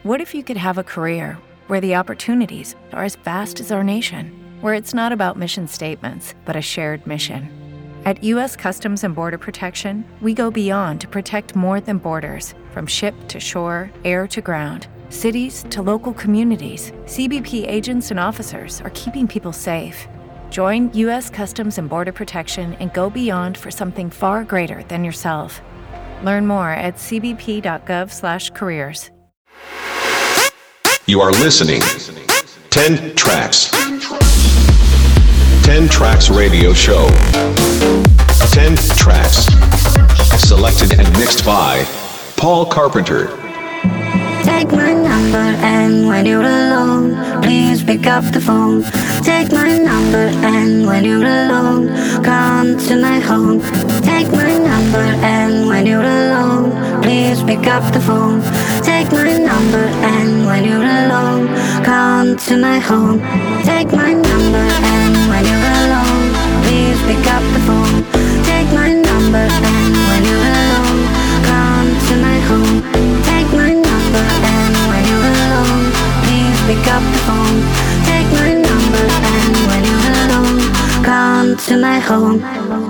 What if you could have a career where the opportunities are as vast as our nation, where it's not about mission statements, but a shared mission? At U.S. Customs and Border Protection, we go beyond to protect more than borders. From ship to shore, air to ground, cities to local communities, CBP agents and officers are keeping people safe. Join U.S. Customs and Border Protection and go beyond for something far greater than yourself. Learn more at cbp.gov/careers. You are listening 10 Tracks. 10 Tracks Radio Show. 10 Tracks. Selected and mixed by Paul Carpenter. Take my number and when you're alone, please pick up the phone. Take my number and when you're alone, come to my home. Take my number and when you're alone, please pick up the phone. Take my number and when you're alone, come to my home. Take my number and when you're alone, please pick up the phone. Take my number and when you're alone, come to my home. Take my number and when you're alone, please pick up the phone. Take my number and when you're alone, come to my home.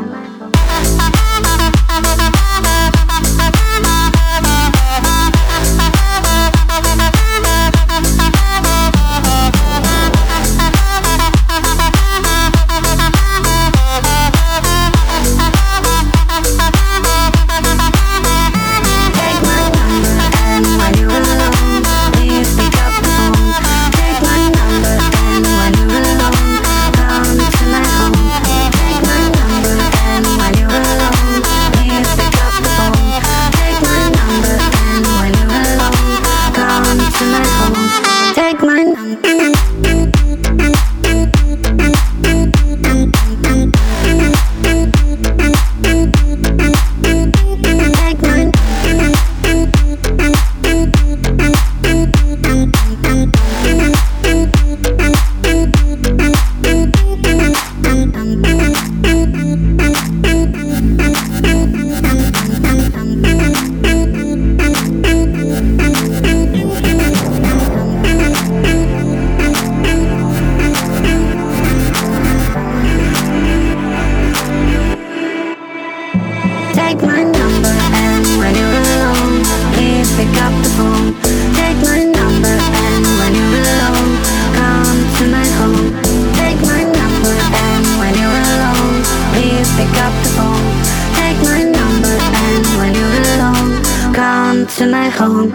To my home.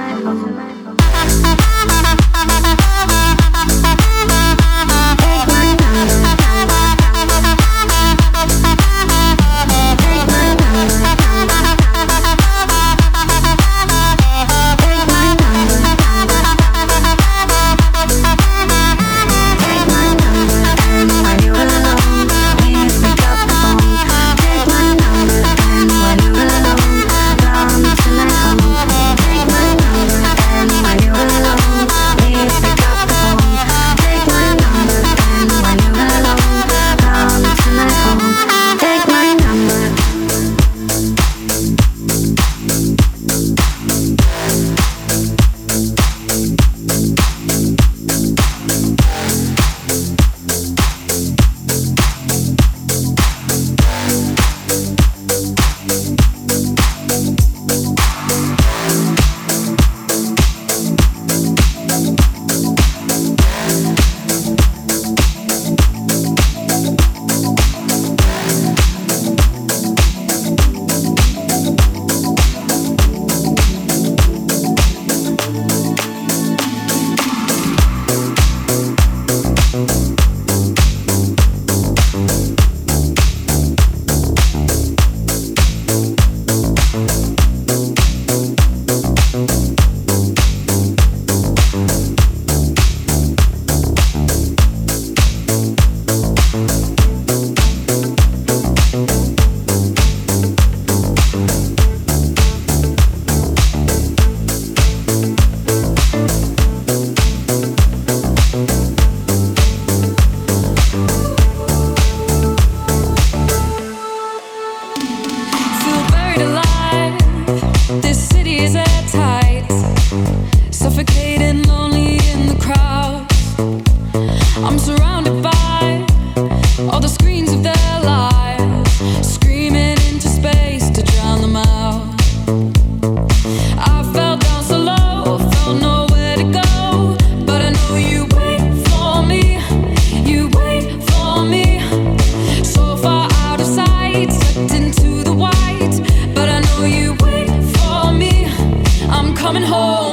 This city is at tight, suffocating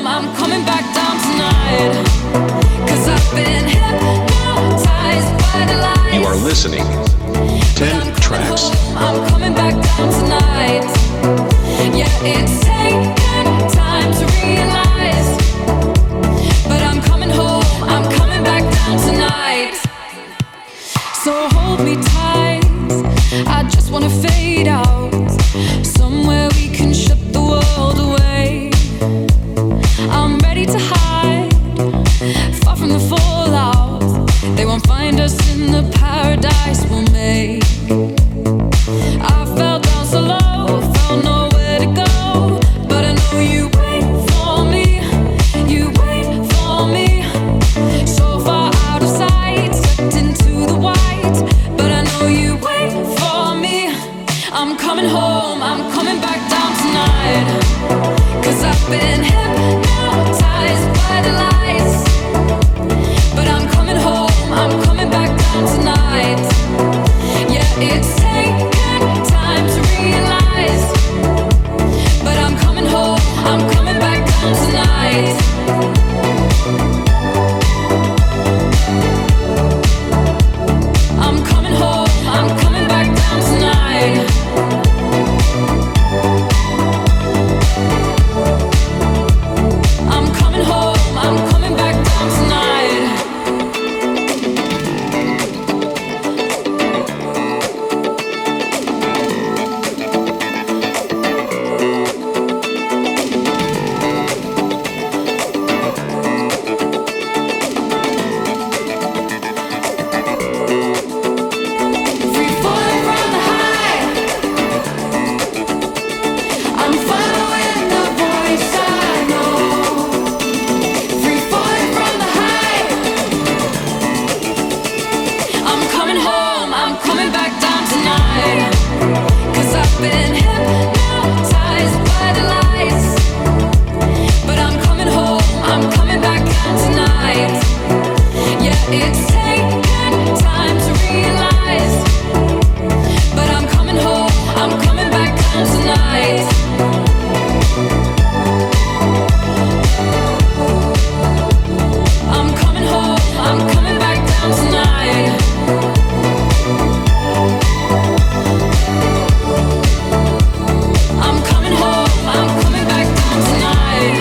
home, I'm coming back down tonight. 'Cause I've been hypnotized by the lights. You are listening. 10 tracks. I'm coming back down tonight. Yeah, it's taken time to realize, but I'm coming home, I'm coming back down tonight. So hold me tight, I just wanna fade out, somewhere we can shut the world away. I'm ready to hide, far from the fallout. They won't find us in the paradise we'll make. I fell down so low, found nowhere to go, but I know you wait for me, you wait for me. So far out of sight, stepped into the white, but I know you wait for me. I'm coming home, I'm coming back down tonight. 'Cause I've been hypnotized by the lights, but I'm coming home, I'm coming back down tonight. Yeah, it's taken time to realize, but I'm coming home, I'm coming back down tonight. I'm coming home, I'm coming back down tonight. I'm coming home, I'm coming back down tonight. Free falling from the high, I'm following the voice I know. Free falling from the high, I'm coming home, I'm coming back down tonight. 'Cause I've been hypnotized by the lights, but I'm coming home, I'm coming back down tonight. Yeah, it's taken time to realize, but I'm coming home, I'm coming back down tonight. I'm coming home, I'm coming back down tonight. I'm coming home, I'm coming back down tonight.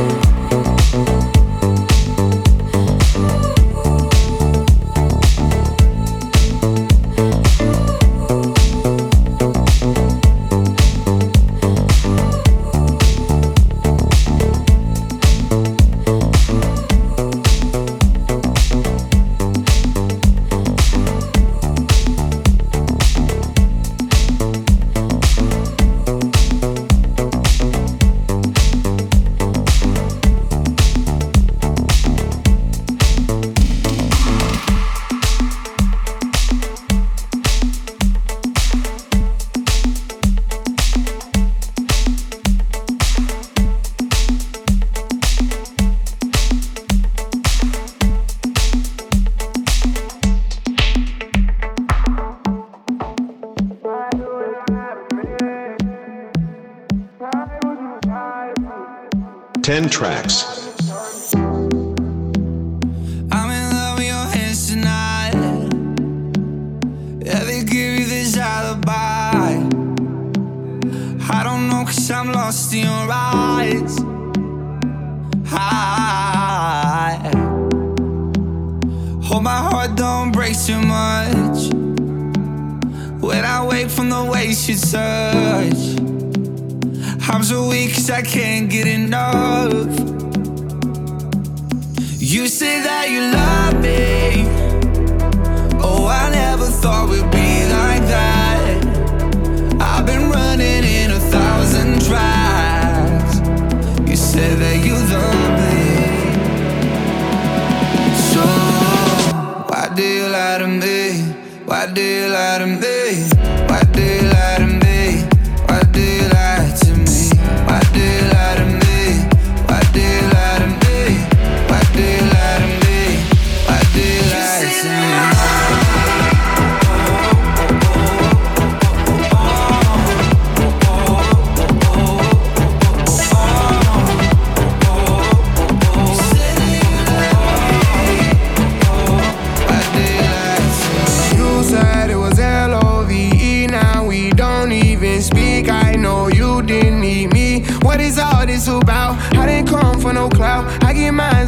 Ten tracks. I'm in love with your hands tonight. Yeah, they give you this alibi. I don't know 'cause I'm lost in your eyes. I hope my heart don't break too much when I wake from the ways you touch. I'm so weak 'cause I can't get enough. You say that you love me. Oh, I never thought we'd be like that. I've been running in 1,000 tracks. You say that you love me. So why do you lie to me? Why do you lie to me? Why do you lie to me? Why do you lie to me? Why do you lie to me? Why do you lie to me? Why do you lie to me? Why do you lie to me?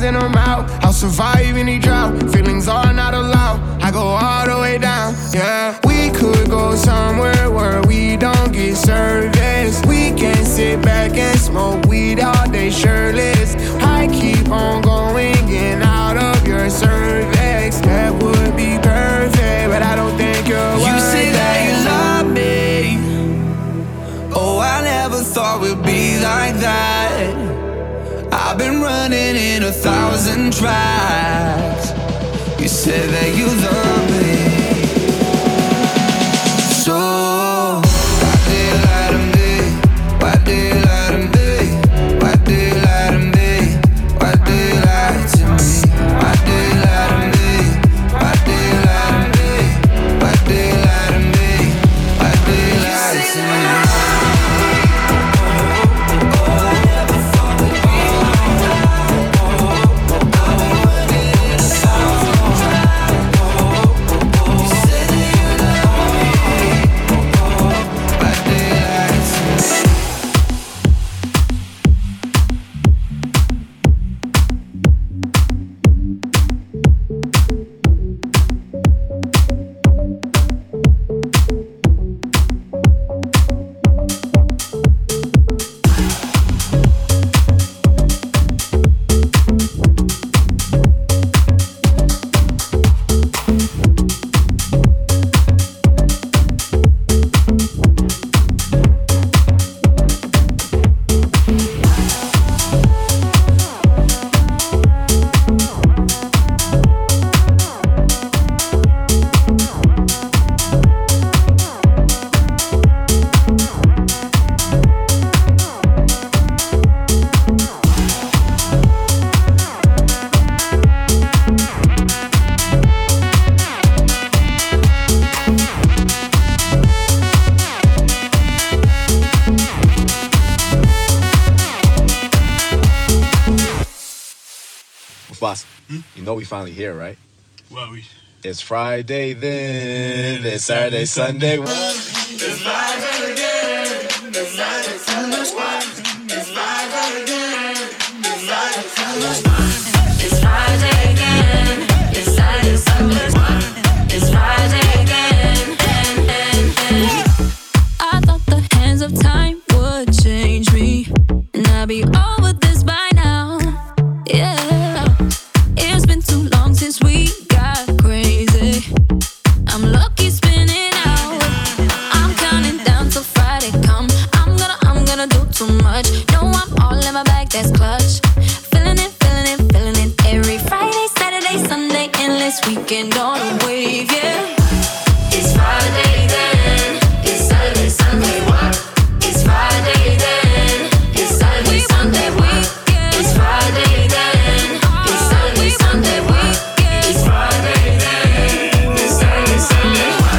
and I'm out. I'll survive any drought. Feelings are not allowed. I go all the way down, yeah. We could go somewhere where we don't get service. We can sit back and smoke weed all day shirtless. I keep on going in out of your cervix. That would be perfect, but I don't think you're worth it. You say that you love me. Oh, I never thought we'd be like that. I've been running in 1,000 tracks. You said that you love me. So why do you lie to me? Why do you lie to me? Why do you lie to me? Why do you lie to me? Why do you lie to me? Why do you lie to me? Why do you lie to me? Why do you lie to me? You know we finally here, right? Well, It's Friday then, it's Saturday, Sunday. It's Friday again. It's Friday, Sunday. It's Friday again. It's Friday, Sunday. It's Friday again. It's Saturday, Sunday. It's Friday again. I thought the hands of time would change me, and I'd be over this by now. Yeah. It's been too long since we got crazy. I'm lucky spinning out. I'm counting down till Friday come. I'm gonna do too much. No, I'm all in my bag, that's clutch. Feeling it, feeling it, feeling it. Every Friday, Saturday, Sunday, endless weekend on a wave, yeah. It's Friday then. It's Saturday, Sunday, what? It's Friday then. It's Saturday, Sunday, what? It's Friday then. It's Saturday, Sunday, what? It's Friday then. It's Saturday, Sunday, what?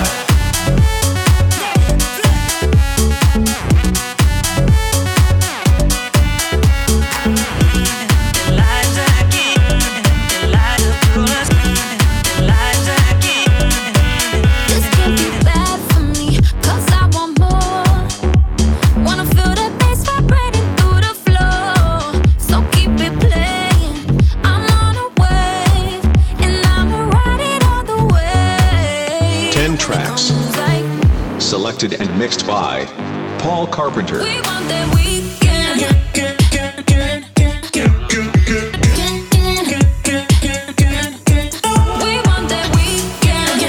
This can't be bad for me, 'cause I want more. Wanna feel the bass vibrating through the floor. So keep it playing. I'm on a wave, and I'ma ride it all the way. 10 tracks. Like Selected and mixed by Paul Carpenter. we want that weekend. We want that weekend.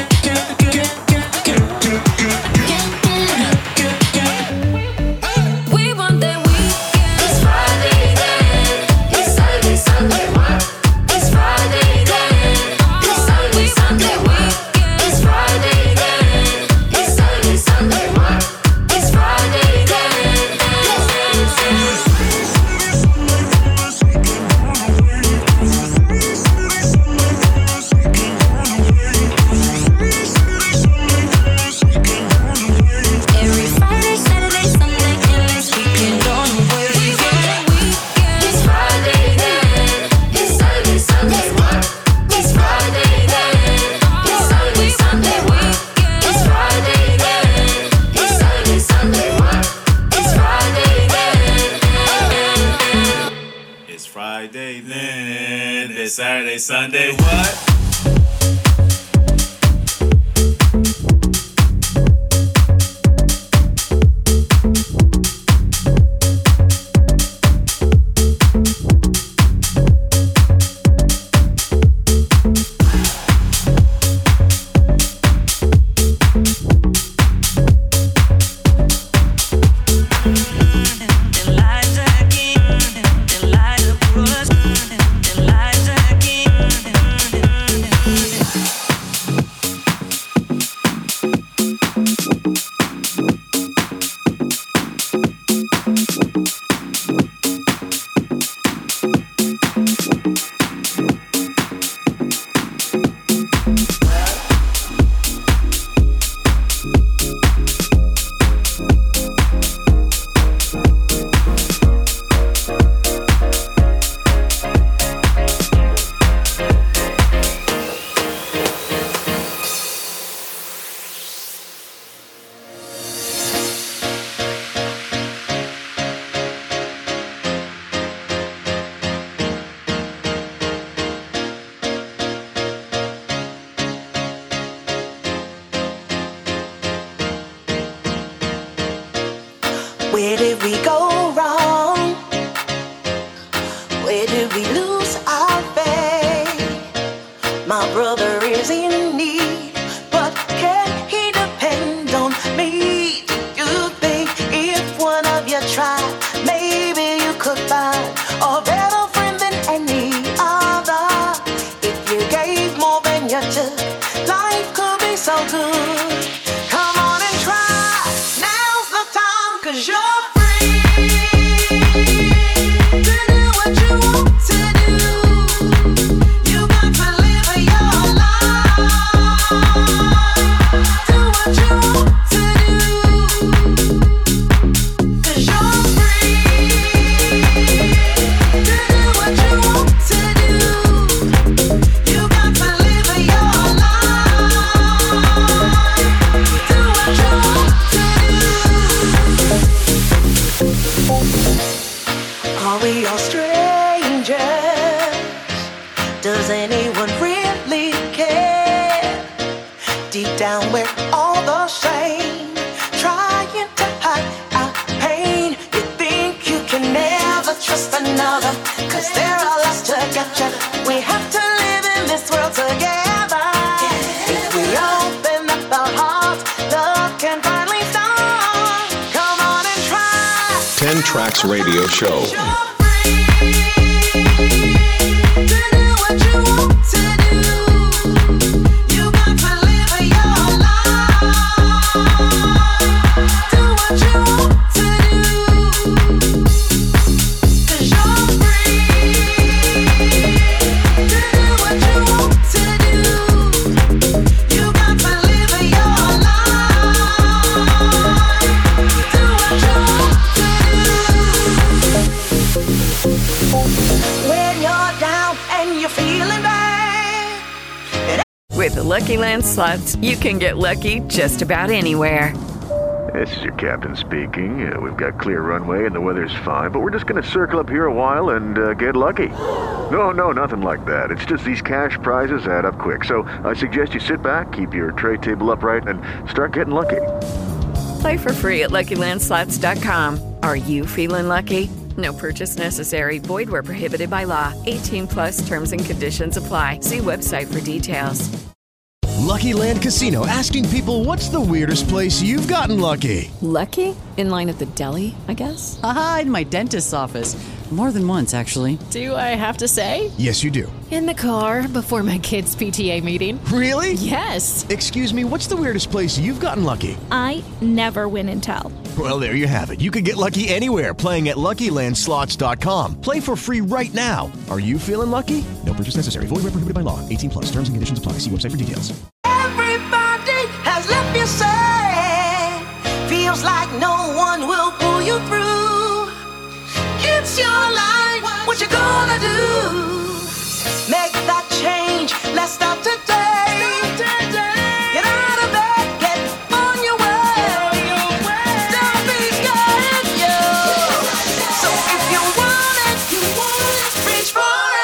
We want that weekend. It's Friday then. It's Saturday, Sunday, what? It's Friday then. It's Saturday, Sunday, what? It's Friday then. It's Saturday, Sunday, what? It's Friday then. day, then it's Saturday, Sunday, what? Where did we go wrong? Where did we lose our faith? My brother is in need, but can he depend on me? Do you think if one of you tried, maybe you could find a better friend than any other? If you gave more than you took, life could be so good. Come on and try. Now's the time, 'cause you're down where all the shame, trying to hide our pain. You think you can never trust another, 'cause there are lots to get you. We have to live in this world together. If we open up our hearts, love can finally start. Come on and try. 10 Tracks Radio Show. With the Lucky Land Slots, you can get lucky just about anywhere. This is your captain speaking. We've got clear runway and the weather's fine, but we're just going to circle up here a while and get lucky. No, nothing like that. It's just these cash prizes add up quick. So I suggest you sit back, keep your tray table upright, and start getting lucky. Play for free at LuckyLandSlots.com. Are you feeling lucky? No purchase necessary. Void where prohibited by law. 18+ terms and conditions apply. See website for details. Lucky Land Casino, asking people, what's the weirdest place you've gotten lucky? Lucky? In line at the deli, I guess? Aha, in my dentist's office. More than once, actually. Do I have to say? Yes, you do. In the car before my kids' PTA meeting. Really? Yes. Excuse me, what's the weirdest place you've gotten lucky? I never win and tell. Well, there you have it. You can get lucky anywhere, playing at LuckyLandSlots.com. Play for free right now. Are you feeling lucky? No purchase necessary. Void where prohibited by law. 18+. Terms and conditions apply. See website for details. Everybody has left you sad. Feels like no one will pull you through. It's your life. What you gonna do? Make that change. Let's start today. Get out of bed. Get on your way. Don't be scared, yo. So if you want it, reach for it.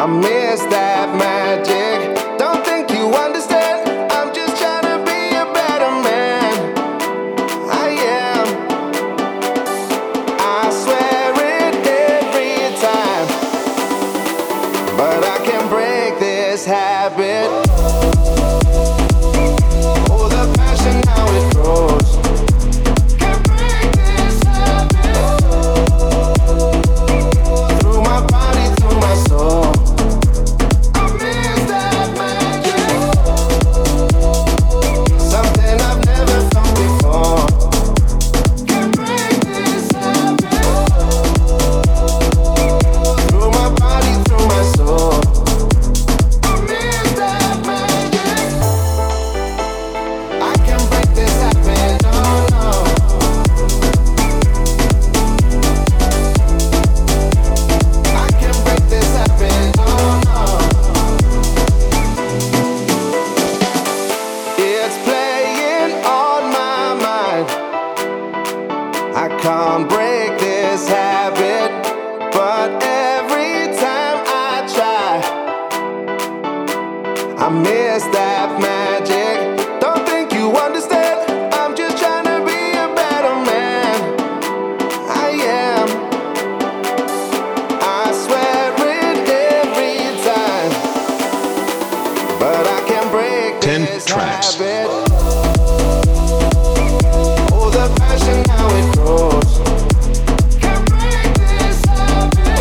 I miss that magic. Don't think you understand. I'm just trying to be a better man. I am. I swear it every time, but I can't break this habit. Oh, the passion, how it grows. Can't break this habit. Through my body, through my soul. I miss that magic. Something I've never felt before. Can't break this habit. Through my body, through my soul. I miss that magic. I can't break this habit, no, no. I can't break this habit, no, no. It's playing on my mind. I can't break this habit, but every time I try, I miss that magic. Don't think you understand. I'm just trying to be a better man. I am. I swear it every time, but I can't break 10 this tracks. habit. Oh, the passion, how it grows. Can't break this habit.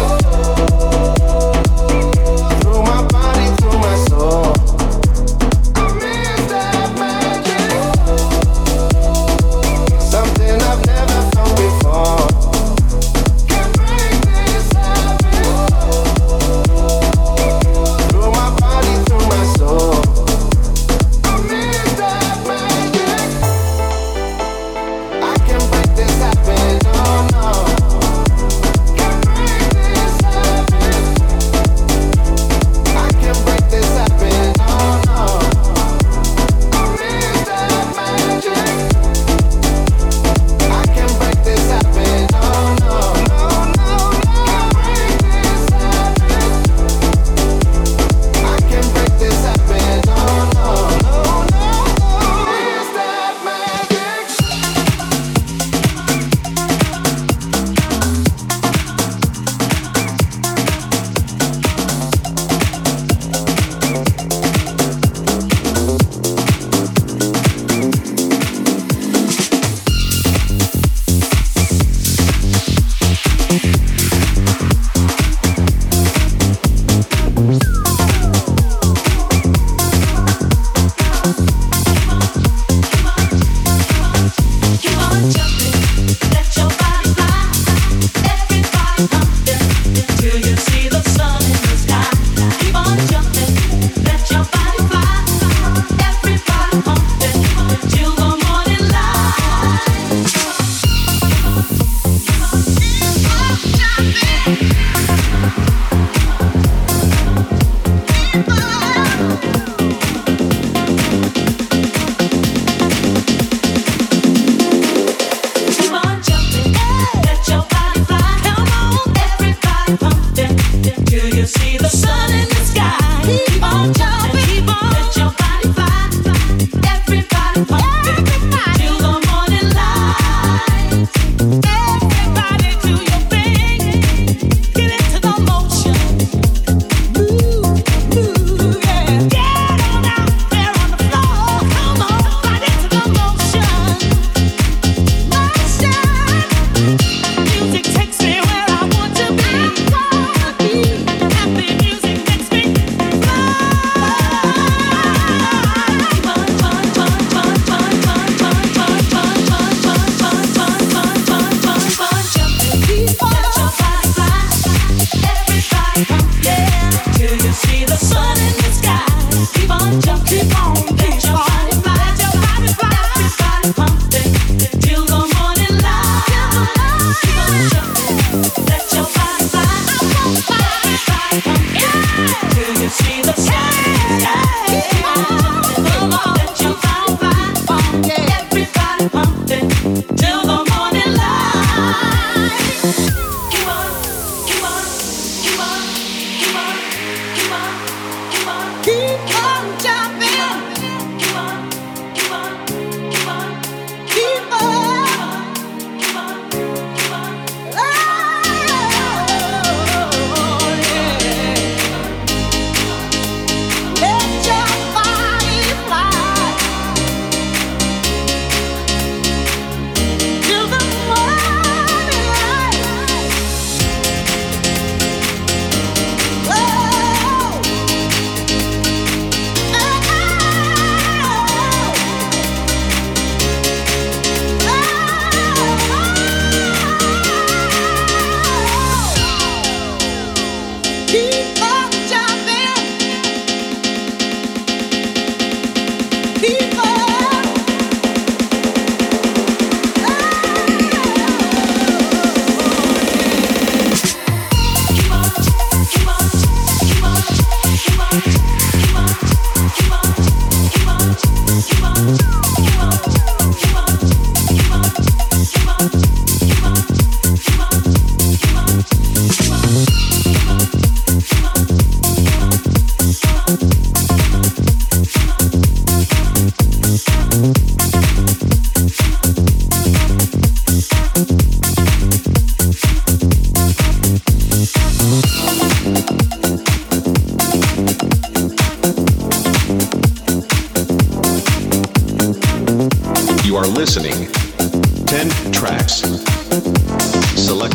Through my body, through my soul. I miss that magic. Something I've never felt before. Can't break this habit. Through my body, through my soul. I miss that magic.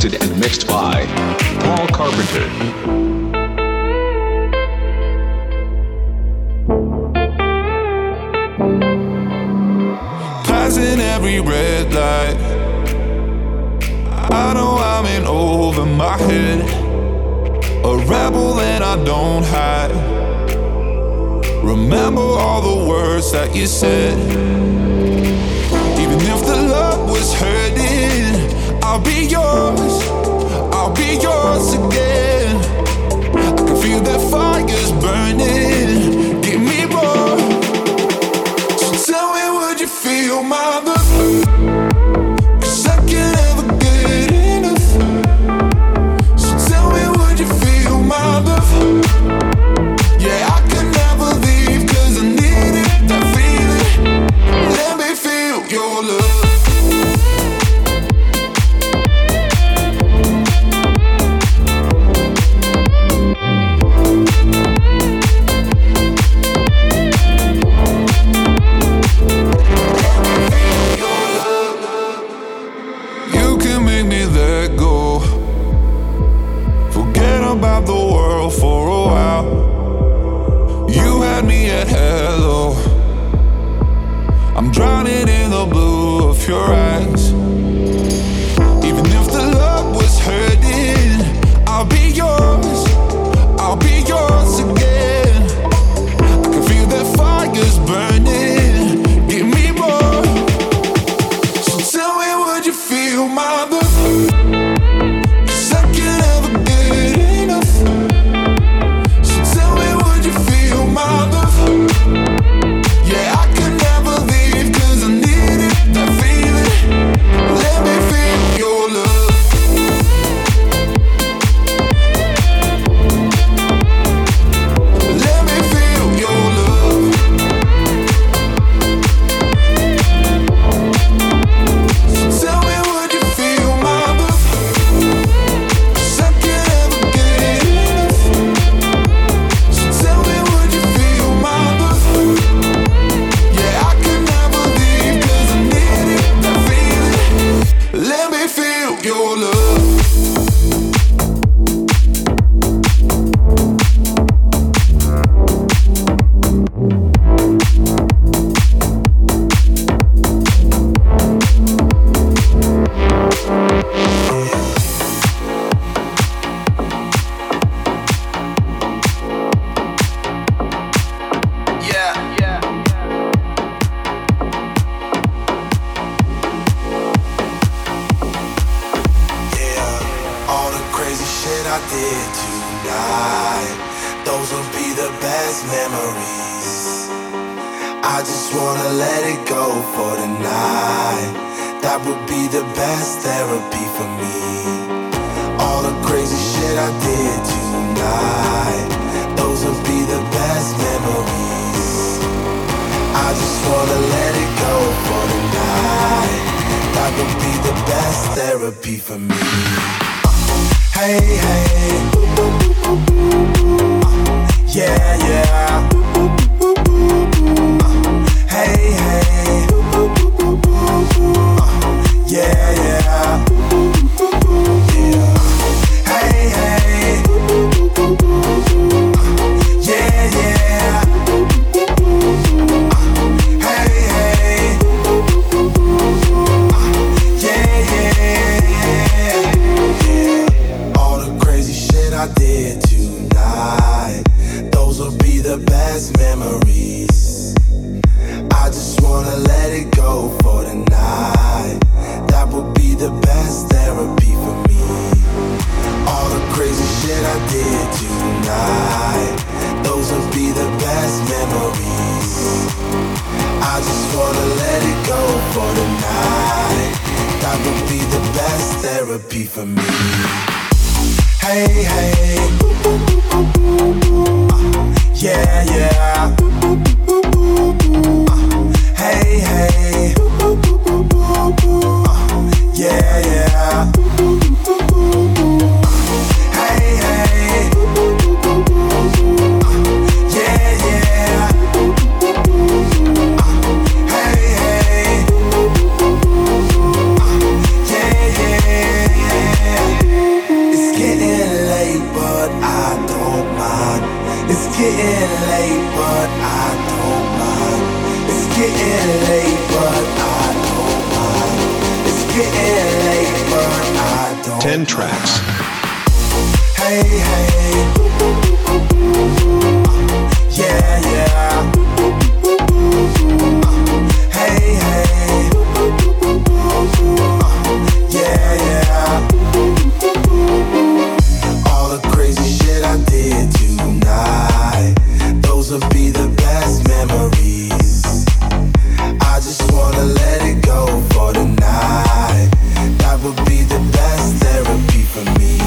selected and mixed by Paul Carpenter. Passing every red light, I know I'm in over my head, a rebel and I don't hide. Remember all the words that you said. Even if the love was hurting, I'll be yours again. I can feel that fire's burning, give me more. So tell me, would you feel my love? 'Cause I can't ever get enough. So tell me, would you feel my love? Yeah, I can never leave 'cause I need it, that feeling. Let me feel your love. About the world for a while. You had me at hello. I'm drowning in the blue of your eyes. Even if the love was hurting, I'll be yours again. I can feel that fire's burning, give me more. So tell me, would you feel my love? getting late, but I don't mind. It's getting late, but I don't 10 tracks. Hey, hey. Yeah, yeah. Hey, hey. Yeah, yeah. All the crazy shit I did tonight, those will be the best memories. I just wanna let it go for tonight. That would be the best therapy for me.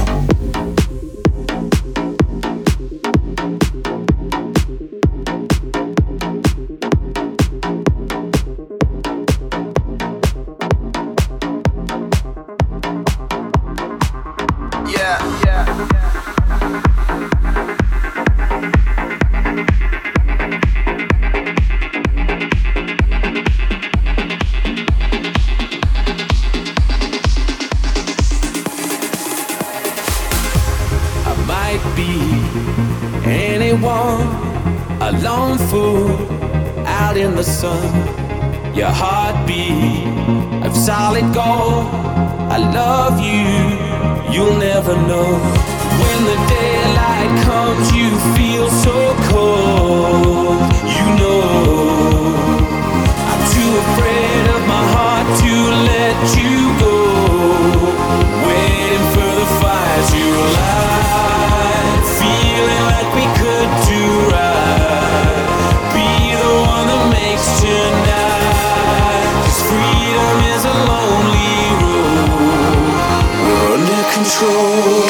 A lone fool out in the sun. Your heartbeat of solid gold. I love you, you'll never know. When the daylight comes, you feel so cold. You know I'm too afraid of my heart to let you go. Waiting for the fire to light, feeling like we could do right. Be the one that makes tonight. 'Cause freedom is a lonely road. We're under control.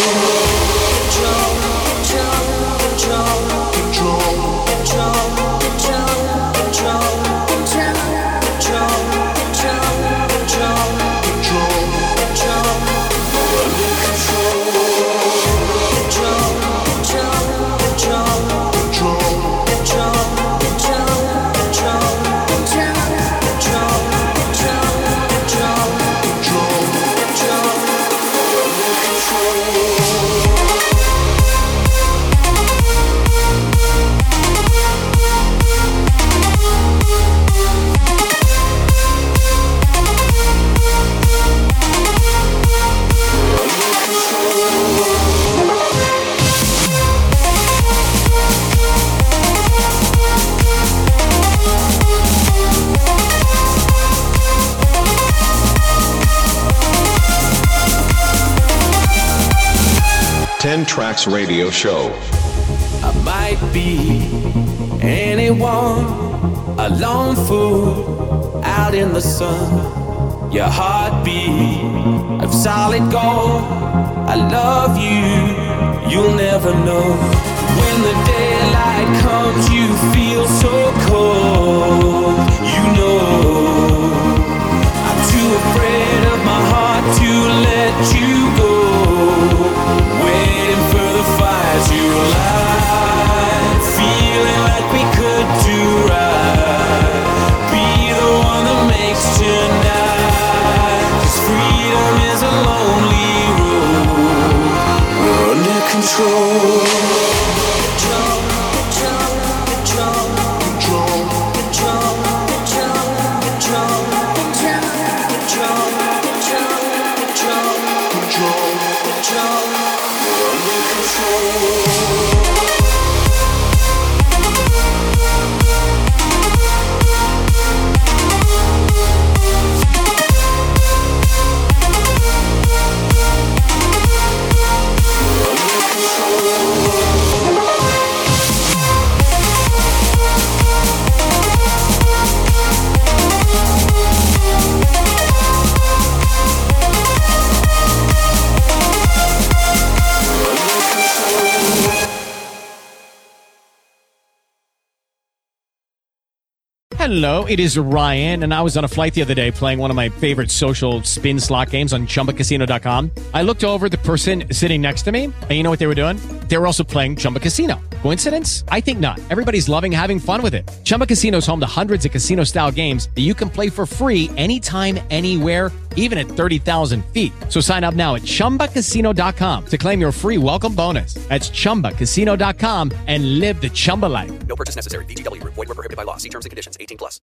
Tracks Radio Show. I might be anyone, a lone fool out in the sun. Your heartbeat of solid gold. I love you, you'll never know. When the daylight comes, you feel so cold. You know I'm too afraid of my heart to let you go. Waiting for the fire to light, feeling like we could do right. Be the one that makes tonight. 'Cause freedom is a lonely road. We're under control. Hello, it is Ryan, and I was on a flight the other day playing one of my favorite social spin slot games on ChumbaCasino.com. I looked over at the person sitting next to me, and you know what they were doing? They were also playing Chumba Casino. Coincidence? I think not. Everybody's loving having fun with it. Chumba Casino is home to hundreds of casino-style games that you can play for free anytime, anywhere, even at 30,000 feet. So sign up now at ChumbaCasino.com to claim your free welcome bonus. That's ChumbaCasino.com and live the Chumba life. No purchase necessary. VGW. Void where prohibited by law. See terms and conditions. 18+.